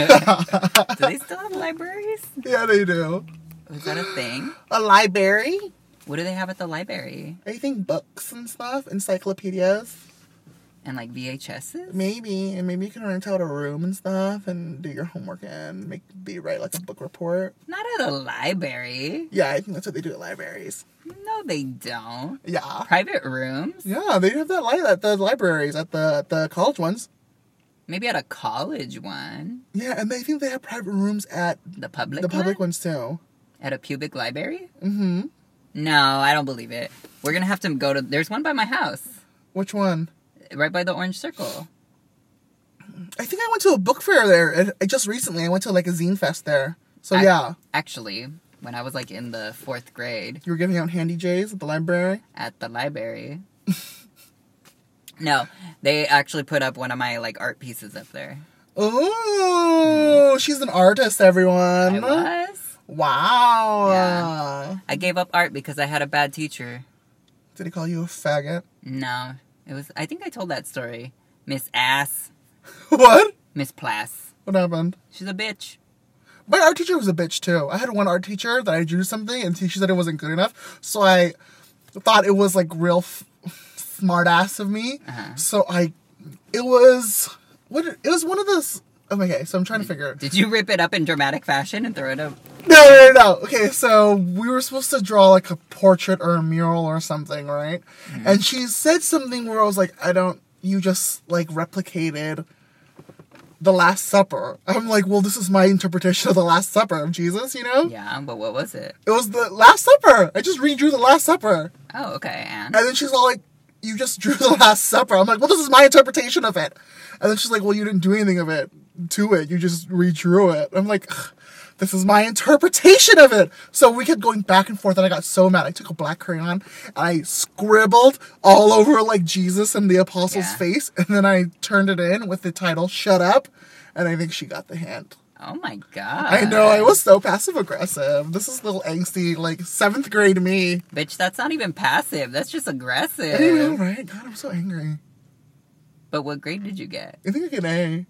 S1: Do they still have libraries?
S2: Yeah, they do.
S1: Is that a thing?
S2: A library?
S1: What do they have at the library?
S2: I think books and stuff, encyclopedias.
S1: And like V H S's?
S2: Maybe, and maybe you can rent out a room and stuff and do your homework and make be write like a book report.
S1: Not at a library.
S2: Yeah, I think that's what they do at libraries.
S1: No, they don't.
S2: Yeah,
S1: Private rooms?
S2: yeah, they have that li- at the libraries at the at the college ones.
S1: Maybe at a college one.
S2: Yeah, and I think they have private rooms at
S1: The public
S2: the public
S1: one?
S2: ones too.
S1: At a pubic library?
S2: Mm-hmm.
S1: No, I don't believe it. We're gonna have to go to... There's one by my house.
S2: Which one?
S1: Right by the Orange Circle.
S2: I think I went to a book fair there. and I just recently I went to like a zine fest there. So
S1: I-
S2: yeah,
S1: Actually, when I was like in the fourth grade
S2: you were giving out handy J's at the library.
S1: at the library. No, they actually put up one of my like art pieces up there.
S2: Oh, she's an artist, everyone.
S1: I was.
S2: Wow.
S1: Yeah. I gave up art because I had a bad teacher.
S2: Did he call you a faggot?
S1: No, it was. I think I told that story. Miss Ass,
S2: What?
S1: Miss Plass.
S2: What happened?
S1: She's a bitch.
S2: My art teacher was a bitch too. I had one art teacher that I drew something and she said it wasn't good enough. So I thought it was like real f- smart ass of me.
S1: Uh-huh.
S2: So I, it was, what, it was one of those, okay, so I'm trying to figure it.
S1: Did you rip it up in dramatic fashion and throw it up?
S2: No, no, no, no. Okay, so we were supposed to draw like a portrait or a mural or something, right?
S1: Mm-hmm.
S2: And she said something where I was like, I don't, you just like replicated the Last Supper. I'm like, well, this is my interpretation of the Last Supper of Jesus, you know?
S1: Yeah, but what was it?
S2: It was the Last Supper. I just redrew the Last Supper.
S1: Oh, okay, and
S2: And then she's all like, you just drew the Last Supper. I'm like, well, this is my interpretation of it. And then she's like, well, you didn't do anything of it to it. You just redrew it. I'm like, this is my interpretation of it. So we kept going back and forth, and I got so mad. I took a black crayon, and I scribbled all over, like, Jesus and the apostle's
S1: Yeah.
S2: face, and then I turned it in with the title, Shut Up, and I think she got the hint.
S1: Oh my god.
S2: I know, I was so passive-aggressive. This is a little angsty, like, seventh grade me.
S1: Bitch, that's not even passive. That's just aggressive.
S2: I know, right? God, I'm so angry.
S1: But what grade did you get?
S2: I think I get an A.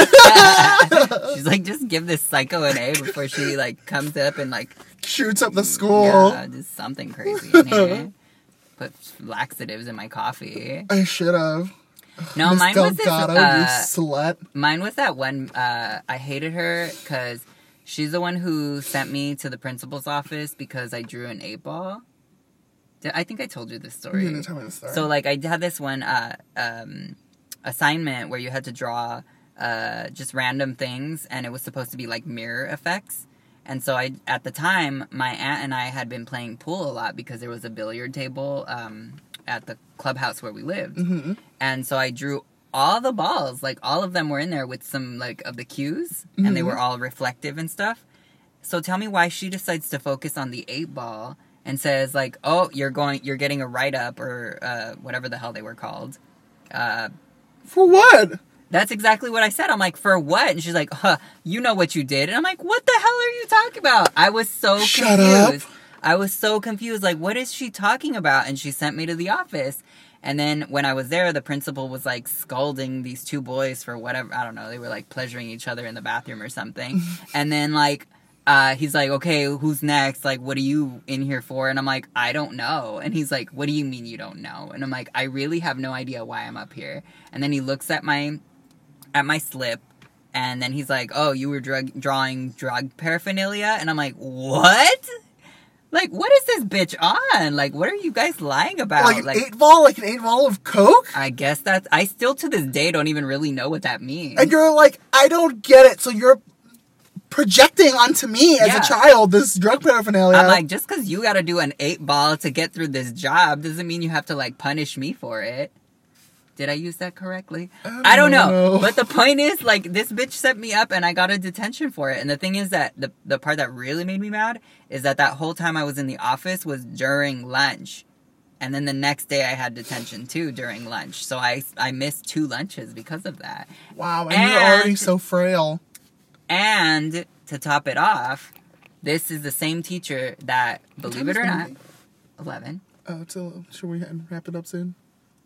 S1: She's like, just give this psycho an A before she, like, comes up and, like...
S2: Shoots up the school.
S1: Yeah, just something crazy in here. Put laxatives in my coffee.
S2: I should have.
S1: No,
S2: Miss
S1: mine was this...
S2: Delgado, you
S1: Uh,
S2: slut.
S1: mine was that one... Uh, I hated her because she's the one who sent me to the principal's office because I drew an eight ball. Did- I think I told you this story.
S2: You didn't tell me the story.
S1: So, like, I had this one uh, um, assignment where you had to draw uh, just random things, and it was supposed to be, like, mirror effects. And so, I at the time, my aunt and I had been playing pool a lot because there was a billiard table um, at the clubhouse where we lived.
S2: Mm-hmm.
S1: And so, I drew all the balls. Like, all of them were in there with some, like, of the cues,
S2: Mm-hmm.
S1: and they were all reflective and stuff. So, tell me why she decides to focus on the eight ball and says, like, oh, you're going, you're getting a write-up, or uh, whatever the hell they were called. Uh,
S2: For what?
S1: that's exactly what I said. I'm like, for what? And she's like, huh, you know what you did. And I'm like, what the hell are you talking about? I was so
S2: Shut
S1: confused.
S2: up.
S1: I was so confused. Like, what is she talking about? And she sent me to the office. And then when I was there, the principal was, like, scolding these two boys for whatever. I don't know. They were, like, pleasuring each other in the bathroom or something. And then, like, Uh, he's like, okay, who's next? Like, what are you in here for? And I'm like, I don't know. And he's like, what do you mean you don't know? And I'm like, I really have no idea why I'm up here. And then he looks at my, at my slip, and then he's like, oh, you were drug, drawing drug paraphernalia? And I'm like, what? Like, what is this bitch on? Like, what are you guys lying about?
S2: Like an eight ball? Like an eight ball of Coke?
S1: I guess that's, I still to this day don't even really know what that means.
S2: And you're like, I don't get it. So you're projecting onto me as
S1: Yeah.
S2: a child this drug paraphernalia.
S1: I'm like, just because you got to do an eight ball to get through this job doesn't mean you have to, like, punish me for it. Did I use that correctly?
S2: I
S1: I don't
S2: don't
S1: know.
S2: know.
S1: But the point is, like, this bitch set me up and I got a detention for it. And the thing is that the, the part that really made me mad is that that whole time I was in the office was during lunch. And then the next day I had detention, too, during lunch. So I, I missed two lunches because of that.
S2: wow, and, you're already
S1: and-
S2: so frail.
S1: And to top it off, this is the same teacher that, believe it or not, eleven.
S2: Uh, so, should we wrap it up soon?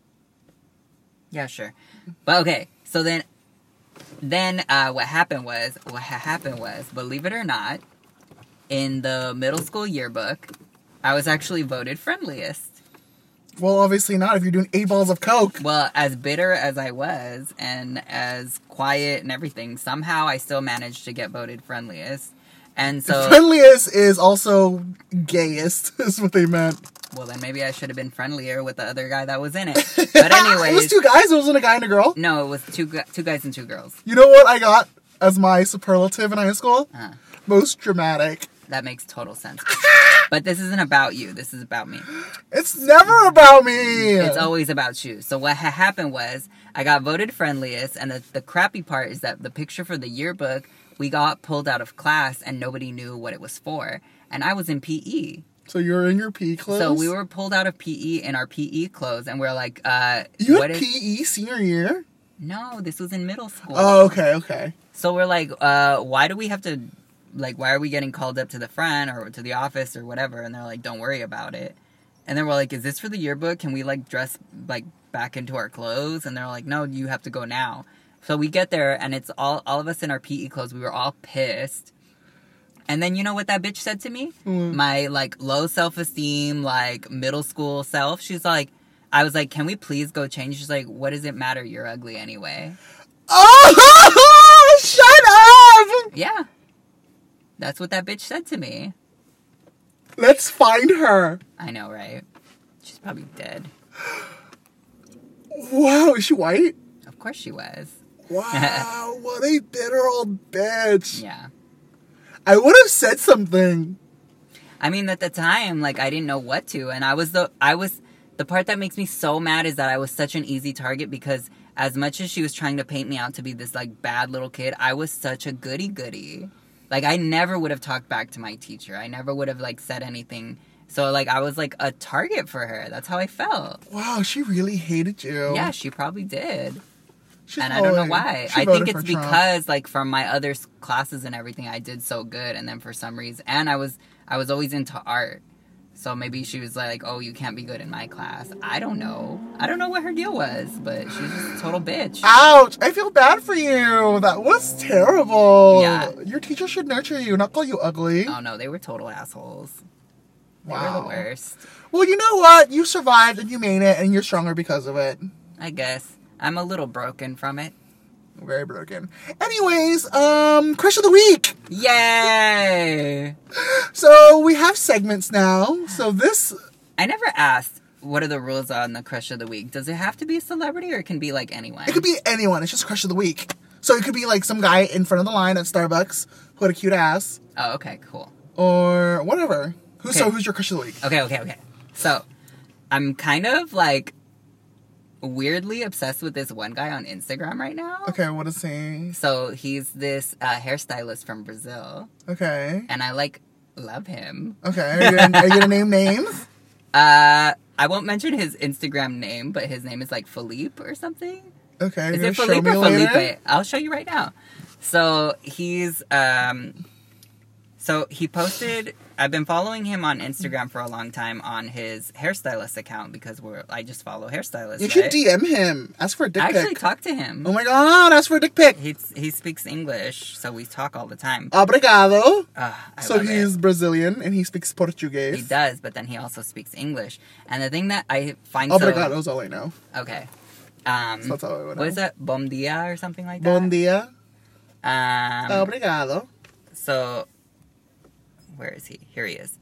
S1: Yeah, sure. But okay, so then, then uh, what happened was, what ha- happened was, believe it or not, in the middle school yearbook, I was actually voted friendliest.
S2: Well, obviously not if you're doing eight balls of Coke.
S1: Well, as bitter as I was, and as quiet and everything, somehow I still managed to get voted friendliest. And so,
S2: Friendliest is also gayest, is what they meant.
S1: well, then maybe I should have been friendlier with the other guy that was in it. But anyways,
S2: It was two guys, it wasn't a guy and a girl.
S1: no, it was two gu- two guys and two girls.
S2: You know what I got as my superlative in high school?
S1: Uh,
S2: Most dramatic.
S1: that makes total sense. But this isn't about you. This is about me.
S2: It's never about me.
S1: It's always about you. So what ha- happened was I got voted friendliest, and the, the crappy part is that the picture for the yearbook, we got pulled out of class and nobody knew what it was for. And I was in P E.
S2: So you're in your P E clothes?
S1: So we were pulled out of P E in our P E clothes, and we're like, uh...
S2: You
S1: what
S2: had
S1: is-
S2: P E senior year?
S1: No, this was in middle school.
S2: Oh, okay, okay.
S1: So we're like, uh, why do we have to, like, why are we getting called up to the front or to the office or whatever? And they're like, don't worry about it. And then we're like, is this for the yearbook? Can we, like, dress, like, back into our clothes? And they're like, no, you have to go now. So we get there, and it's all, all of us in our P E clothes. We were all pissed. And then you know what that bitch said to me?
S2: Mm.
S1: My, like, low self-esteem, like, middle school self. She's like, I was like, can we please go change? She's like, what does it matter? You're ugly anyway.
S2: Oh, shut up!
S1: Yeah. That's what that bitch said to me.
S2: Let's find her.
S1: I know, right? She's probably dead.
S2: Wow, is she white?
S1: Of course she was.
S2: Wow, what a bitter old bitch.
S1: Yeah.
S2: I would have said something.
S1: I mean, at the time, like, I didn't know what to, and I was the, I was, the part that makes me so mad is that I was such an easy target because as much as she was trying to paint me out to be this, like, bad little kid, I was such a goody-goody. Like, I never would have talked back to my teacher. I never would have, like, said anything. So, like, I was, like, a target for her. That's how I felt.
S2: Wow, she really hated you.
S1: Yeah, she probably did.
S2: She's
S1: and I don't know
S2: voting.
S1: why.
S2: She
S1: I
S2: voted
S1: think it's
S2: for Trump.
S1: because, like, from my other s- classes and everything, I did so good. And then for some reason... And I was I was always into art. So maybe she was like, oh, you can't be good in my class. I don't know. I don't know what her deal was, but she was just a total bitch.
S2: Ouch! I feel bad for you. That was terrible.
S1: Yeah.
S2: Your teacher should nurture you, not call you ugly.
S1: Oh, no, they were total assholes. They
S2: Wow.
S1: were the worst.
S2: Well, you know what? You survived and you made it, and you're stronger because of it.
S1: I guess. I'm a little broken from it.
S2: Very broken. Anyways, um, crush of the week.
S1: Yay!
S2: So we have segments now. So this,
S1: I never asked, what are the rules on the crush of the week? Does it have to be a celebrity or it can be like anyone?
S2: it could be anyone. It's just crush of the week. So it could be like some guy in front of the line at Starbucks who had a cute ass,
S1: Oh, okay, cool.
S2: or whatever. Who? So
S1: Okay.
S2: who's your crush of the week?
S1: Okay, okay, okay. So, I'm kind of like weirdly obsessed with this one guy on Instagram right now.
S2: Okay, what is he?
S1: So, he's this uh, hairstylist from Brazil,
S2: Okay.
S1: and I like love him.
S2: Okay. Are you gonna, are you gonna name names?
S1: Uh, I won't mention his Instagram name, but his name is like Philippe or something.
S2: Okay. You're
S1: Is
S2: gonna
S1: it
S2: show
S1: Philippe
S2: me
S1: or
S2: later?
S1: Felipe? I'll show you right now. So he's um, so he posted. I've been following him on Instagram for a long time on his hairstylist account because we're I just follow hairstylists.
S2: You
S1: right?
S2: should D M him. Ask for a dick
S1: I actually
S2: pic.
S1: talked to him.
S2: Oh my god! Ask for a dick pic.
S1: He he speaks English, so we talk all the time.
S2: Obrigado.
S1: Uh, I
S2: So
S1: love
S2: he's
S1: it.
S2: Brazilian and he speaks Portuguese.
S1: He does, but then he also speaks English. And the thing that I find
S2: Obrigado is all I know.
S1: so okay. Um,
S2: So that's all I would know.
S1: what is that? Bom dia or something like that.
S2: Bon dia.
S1: Um,
S2: Obrigado.
S1: So, where is he? Here he is.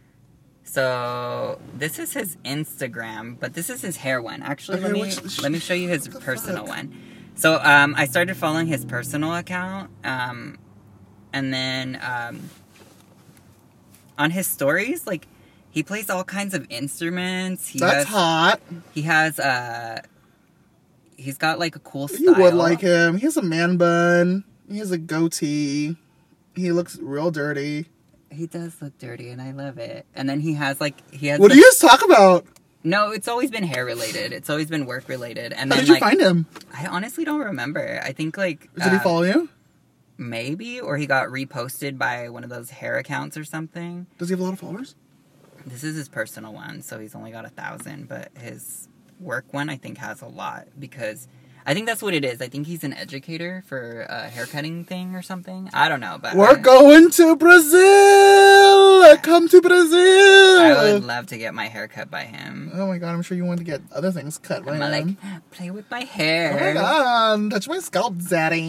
S1: So, this is his Instagram, but this is his hair one. Actually,
S2: Okay,
S1: let me
S2: which-
S1: let me show you his
S2: what the
S1: personal
S2: fuck?
S1: one. So, um, I started following his personal account, um, and then um, on his stories, like he plays all kinds of instruments. He
S2: That's
S1: has,
S2: hot.
S1: He has uh, he's got like a cool style.
S2: You would like him. He has a man bun. He has a goatee. He looks real dirty.
S1: He does look dirty, and I love it. And then he has like he has.
S2: What
S1: the-
S2: do you guys talk about?
S1: No, it's always been hair related. It's always been work related. And
S2: How
S1: then
S2: did you
S1: like
S2: find him?
S1: I honestly don't remember. I think like
S2: Did he
S1: uh,
S2: follow you?
S1: maybe, or he got reposted by one of those hair accounts or something.
S2: Does he have a lot of followers?
S1: This is his personal one, so he's only got a thousand. But his work one, I think, has a lot because I think that's what it is. I think he's an educator for a haircutting thing or something. I don't know, but
S2: We're
S1: I,
S2: going to Brazil! Come to Brazil!
S1: I would love to get my hair cut by him.
S2: Oh my god, I'm sure you want to get other things cut by
S1: I'm like,
S2: him.
S1: play with my
S2: Oh my
S1: hair.
S2: god, touch my scalp, daddy.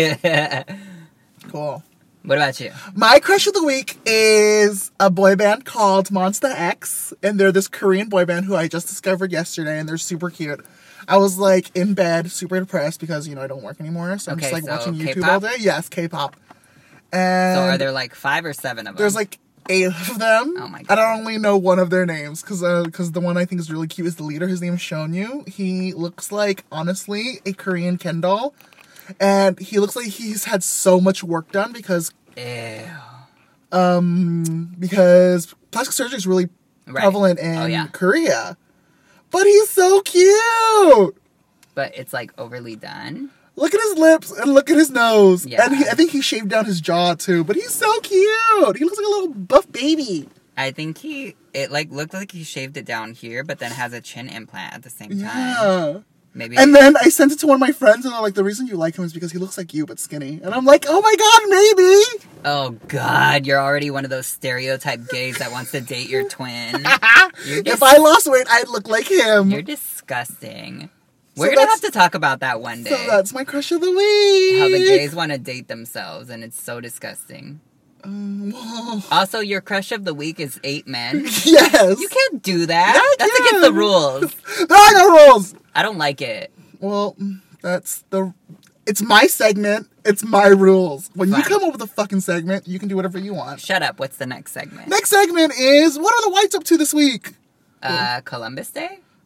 S2: Cool.
S1: What about you?
S2: My crush of the week is a boy band called Monsta X, and they're this Korean boy band who I just discovered yesterday, and they're super cute. I was like in bed, super depressed because you know I don't work anymore, so I'm
S1: Okay,
S2: just like
S1: so
S2: watching YouTube
S1: K-pop?
S2: all day. Yes, K-pop. And
S1: So are there like five or seven of them?
S2: there's like eight of them.
S1: Oh my
S2: I
S1: God.
S2: don't only know one of their names because because the one I think is really cute is the leader. His name is Shonyu. He looks like honestly a Korean Ken doll, and he looks like he's had so much work done because
S1: Ew.
S2: um because plastic surgery is really
S1: Right.
S2: prevalent in
S1: Oh, yeah.
S2: Korea. But he's so cute.
S1: But it's like overly done.
S2: Look at his lips and look at his nose.
S1: Yeah.
S2: And he, I think he shaved down his jaw too. But he's so cute. He looks like a little buff baby.
S1: I think he, it like looked like he shaved it down here, but then has a chin implant at the same time.
S2: Yeah.
S1: Maybe.
S2: And then I sent it to one of my friends, and they're like, the reason you like him is because he looks like you, but skinny. And I'm like, oh my god, maybe!
S1: Oh God, you're already one of those stereotype gays that wants to date your twin. You're
S2: If
S1: just,
S2: I lost weight, I'd look like him.
S1: you're disgusting.
S2: So
S1: We're gonna
S2: that's-
S1: have to talk about that one day.
S2: So that's my crush of the week.
S1: How the gays want to date themselves, and it's so disgusting.
S2: Um, whoa.
S1: Also, your crush of the week is eight men.
S2: Yes.
S1: You can't do that.
S2: Yeah, I
S1: That's
S2: can.
S1: against the rules.
S2: There are no rules.
S1: I don't like it.
S2: Well, that's the. It's my segment. It's my rules. When you
S1: Fine.
S2: come up with a fucking segment, you can do whatever you want.
S1: Shut up. What's the next segment?
S2: Next segment is what are the whites up to this week?
S1: Uh, Columbus Day?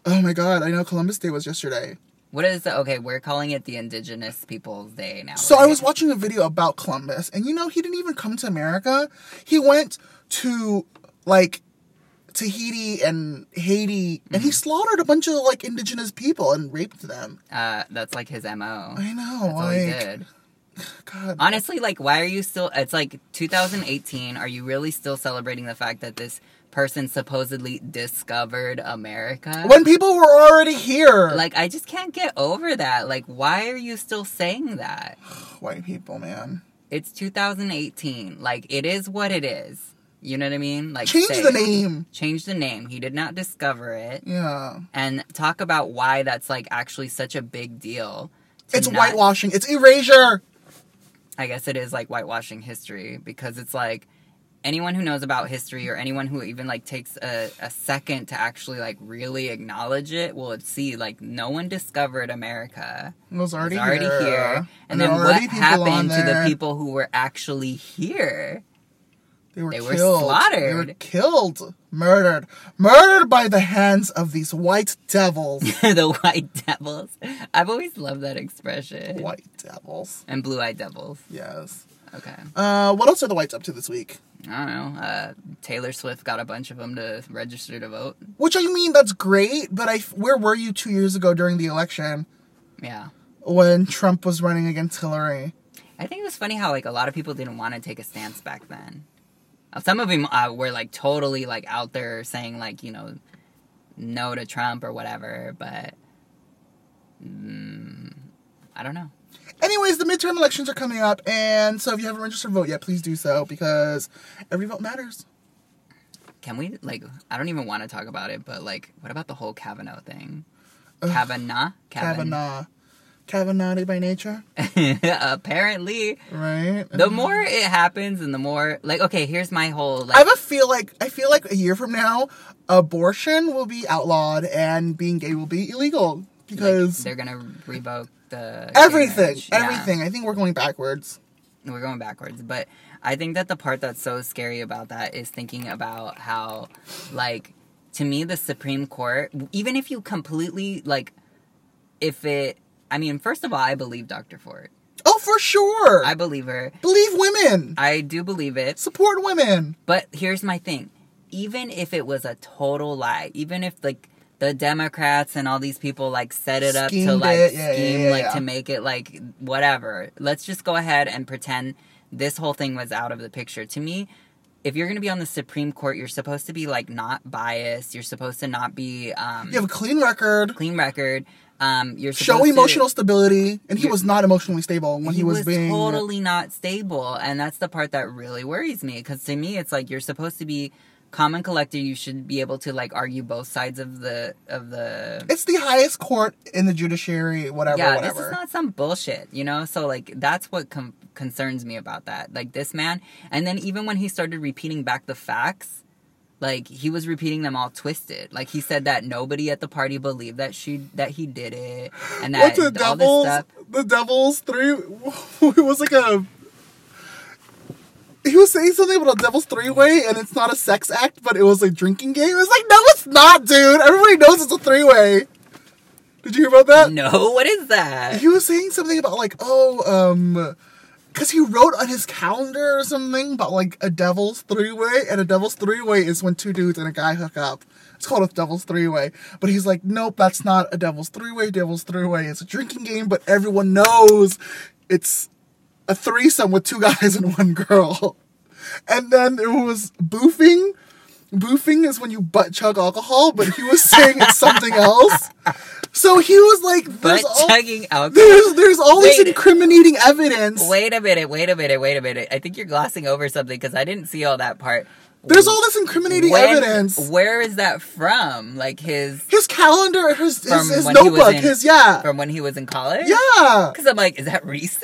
S2: Oh my god, I know Columbus Day was yesterday.
S1: What is the, okay, we're calling it the Indigenous Peoples Day now.
S2: So
S1: right?
S2: I was watching a video about Columbus, and you know, he didn't even come to America. He went to, like, Tahiti and Haiti, and
S1: Mm-hmm.
S2: he slaughtered a bunch of, like, indigenous people and raped them.
S1: Uh, that's like his M O.
S2: I know,
S1: That's all
S2: like,
S1: he did.
S2: God.
S1: Honestly, like, why are you still, it's like two thousand eighteen, are you really still celebrating the fact that this person supposedly discovered America?
S2: When people were already here.
S1: Like, I just can't get over that. Like, why are you still saying that?
S2: White people, man.
S1: It's two thousand eighteen. Like, it is what it is. You know what I mean? Like,
S2: Change
S1: say
S2: the
S1: it.
S2: name.
S1: Change the name. He did not discover it.
S2: Yeah.
S1: And talk about why that's, like, actually such a big deal. to
S2: It's
S1: not-
S2: whitewashing. It's erasure.
S1: I guess it is, like, whitewashing history. Because it's, like, anyone who knows about history or anyone who even, like, takes a, a second to actually, like, really acknowledge it will see, like, no one discovered America.
S2: It was already,
S1: It was already
S2: here.
S1: here. And
S2: there
S1: then
S2: were
S1: what
S2: already people on
S1: happened to the
S2: there.
S1: people who were actually here?
S2: They were
S1: They were
S2: killed.
S1: slaughtered.
S2: They were killed. Murdered. Murdered by the hands of these white devils.
S1: The white devils. I've always loved that expression.
S2: White devils.
S1: And blue-eyed devils.
S2: Yes.
S1: Okay.
S2: Uh, what else are the whites up to this week?
S1: I don't know. Uh, Taylor Swift got a bunch of them to register to vote.
S2: Which I mean, that's great, but I, where were you two years ago during the election
S1: Yeah.
S2: when Trump was running against Hillary?
S1: I think it was funny how, like, a lot of people didn't want to take a stance back then. Uh, Some of them uh, were, like, totally, like, out there saying, like, you know, no to Trump or whatever, but mm, I don't know.
S2: Anyways, the midterm elections are coming up, and so if you haven't registered to vote yet, please do so, because every vote matters.
S1: Can we, like, I don't even want to talk about it, but, like, what about the whole Kavanaugh thing?
S2: Ugh.
S1: Kavanaugh?
S2: Kavanaugh. Kavanaugh by nature,
S1: Apparently.
S2: right?
S1: The more it happens and the more, like, okay, here's my whole, like,
S2: I have a feel like I feel like a year from now, abortion will be outlawed and being gay will be illegal
S1: like,
S2: because
S1: they're gonna revoke the gay
S2: everything,
S1: marriage. Yeah.
S2: everything. I think we're going backwards.
S1: We're going backwards, but I think that the part that's so scary about that is thinking about how, like, to me, the Supreme Court, even if you completely, like, if it, I mean, first of all, I believe Doctor Ford.
S2: Oh, for sure.
S1: I believe her.
S2: believe women.
S1: I do believe it.
S2: Support women.
S1: But here's my thing. Even if it was a total lie, even if, like, the Democrats and all these people, like, set it up to,
S2: Schemed
S1: like,
S2: it. Yeah, yeah,
S1: scheme,
S2: yeah,
S1: like,
S2: yeah.
S1: to make it, like, whatever. Let's just go ahead and pretend this whole thing was out of the picture. To me, if you're going to be on the Supreme Court, you're supposed to be, like, not biased. You're supposed to not be, um...
S2: You have a clean record.
S1: clean record. Um, you're
S2: Show
S1: supposed
S2: emotional
S1: to...
S2: stability, and he
S1: You're-
S2: was not emotionally stable when he,
S1: he
S2: was,
S1: was
S2: being
S1: totally not stable, and that's the part that really worries me. Because to me, it's like you're supposed to be calm and collected. You should be able to, like, argue both sides of the of the.
S2: It's the highest court in the judiciary. Whatever,
S1: yeah,
S2: whatever.
S1: this is not some bullshit, you know. So, like, that's what com- concerns me about that. Like, this man, and then even when he started repeating back the facts. Like, he was repeating them all twisted. Like, he said that nobody at the party believed that she that he did it, and that
S2: What's the
S1: all this
S2: Devils?
S1: stuff.
S2: The Devils three. It was like a. He was saying something about a Devil's three way, and it's not a sex act, but it was a drinking game. It's like, no, it's not, dude. Everybody knows it's a three way. Did you hear about that?
S1: No, what is that?
S2: He was saying something about like, oh, um, because he wrote on his calendar or something about like a Devil's three way, and a Devil's three way is when two dudes and a guy hook up. It's called a Devil's three way, but he's like, nope, that's not a Devil's three way. Devil's three way is a drinking game, but everyone knows it's a threesome with two guys and one girl. And then there was boofing. Boofing is when you butt chug alcohol, but he was saying it's something else. So he was like,
S1: Butt
S2: there's all,
S1: chugging alcohol.
S2: there's, there's all this
S1: Wait.
S2: incriminating evidence.
S1: Wait a minute, wait a minute, wait a minute. I think you're glossing over something because I didn't see all that part.
S2: There's all this incriminating
S1: When-
S2: evidence.
S1: Where is that from? Like his
S2: His calendar, his, his,
S1: From
S2: his
S1: when he was
S2: notebook,
S1: in-
S2: his, yeah.
S1: from when he was in college?
S2: Yeah.
S1: Because I'm like, is that recent?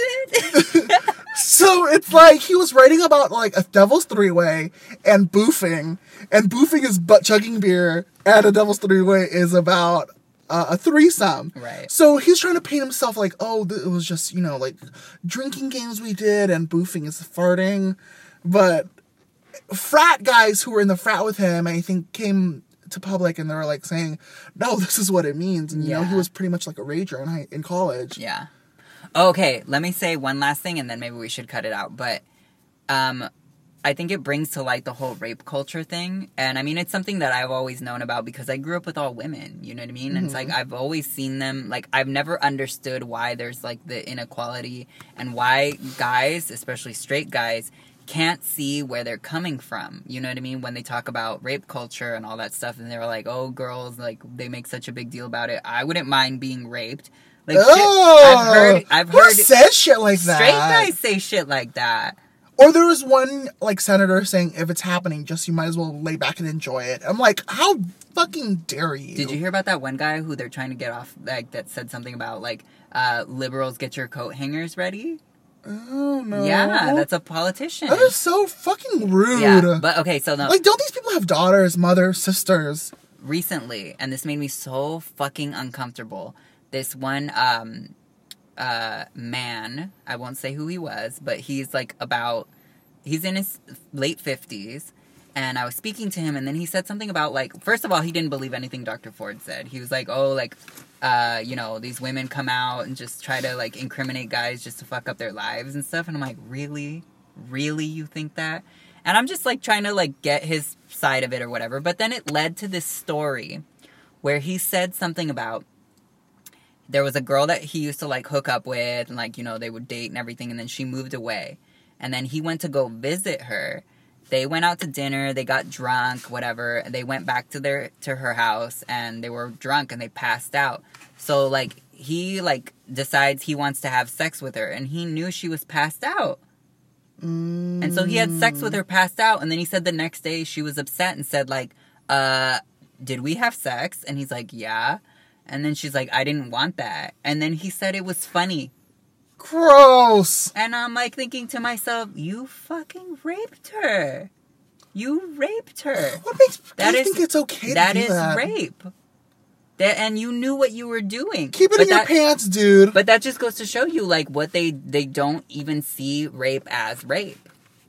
S2: So it's like he was writing about like a Devil's three way and boofing, and boofing is butt chugging beer, and a Devil's three way is about uh, a threesome.
S1: Right.
S2: So he's trying to paint himself like, oh, th- it was just you know like drinking games we did, and boofing is farting, but frat guys who were in the frat with him, I think, came to public and they were like saying, no, this is what it means. And, you know,
S1: Yeah.
S2: he was pretty much like a rager in, high, in college.
S1: Yeah. Okay, let me say one last thing and then maybe we should cut it out. But um, I think it brings to light the whole rape culture thing. And I mean, it's something that I've always known about because I grew up with all women, you know what I mean? And it's like, I've always seen them, like, I've never understood why there's, like, the inequality and why guys, especially straight guys, can't see where they're coming from. You know what I mean? When they talk about rape culture and all that stuff, and they're like, oh, girls, like, they make such a big deal about it. I wouldn't mind being raped. Like, shit,
S2: Oh,
S1: I've heard, I've
S2: who
S1: heard
S2: says shit like that?
S1: straight guys say shit like that.
S2: Or there was one, like, senator saying, if it's happening, just you might as well lay back and enjoy it. I'm like, how fucking dare you?
S1: Did you hear about that one guy who they're trying to get off, like, that said something about, like, uh, liberals get your coat hangers ready?
S2: Oh, no.
S1: Yeah, that's a politician.
S2: That is so fucking rude.
S1: Yeah, but okay, so no.
S2: Like, don't these people have daughters, mothers, sisters?
S1: Recently, and this made me so fucking uncomfortable, this one, um... uh, man, I won't say who he was, but he's like about, he's in his late fifties, and I was speaking to him, and then he said something about, like, first of all, he didn't believe anything Doctor Ford said. He was like, oh, like, uh, you know, these women come out and just try to, like, incriminate guys just to fuck up their lives and stuff, and I'm like, really? Really, you think that? And I'm just, like, trying to, like, get his side of it or whatever, but then it led to this story where he said something about, there was a girl that he used to, like, hook up with, and, like, you know, they would date and everything, and then she moved away. And then he went to go visit her. They went out to dinner, they got drunk, whatever, and they went back to their to her house, and they were drunk, and they passed out. So, like, he, like, decides he wants to have sex with her, and he knew she was passed out.
S2: Mm.
S1: And so he had sex with her passed out, and then he said the next day she was upset and said, like, uh, did we have sex? And he's like, yeah. And then she's like, I didn't want that. And then he said it was funny.
S2: Gross.
S1: And I'm like thinking to myself, you fucking raped her. You raped her.
S2: What makes
S1: That
S2: I
S1: is-
S2: think it's okay
S1: That
S2: to do
S1: is
S2: that?
S1: rape. That, and you knew what you were doing.
S2: Keep it
S1: But
S2: in your
S1: that-
S2: pants, dude.
S1: But that just goes to show you, like, what they, they don't even see rape as rape.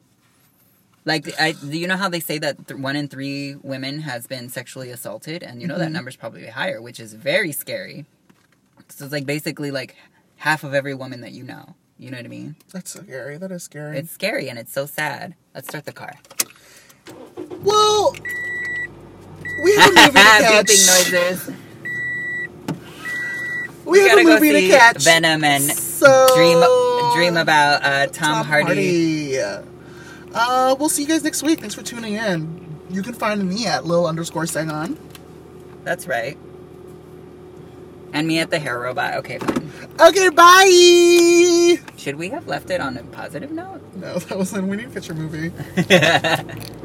S1: Like, I, you know how they say that th- one in three women has been sexually assaulted? And you know that
S2: Mhm.
S1: number's probably higher, which is very scary. So it's, like, basically, like, half of every woman that you know. You know what I mean?
S2: That's scary. That is scary.
S1: It's scary, and it's so sad. Let's start the car.
S2: Well, we have a movie to catch.
S1: Beeping noises.
S2: We,
S1: We
S2: have
S1: gotta
S2: a
S1: go
S2: movie
S1: see
S2: to catch.
S1: Venom and
S2: so,
S1: dream dream about uh, Tom,
S2: Tom
S1: Hardy.
S2: Hardy. Uh, we'll see you guys next week. Thanks for tuning in. You can find me at Lil underscore Sangon.
S1: That's right. And me at the hair robot. Okay, fine.
S2: Okay, bye!
S1: Should we have left it on a positive note?
S2: No, that was a We Need to Catch Your Movie.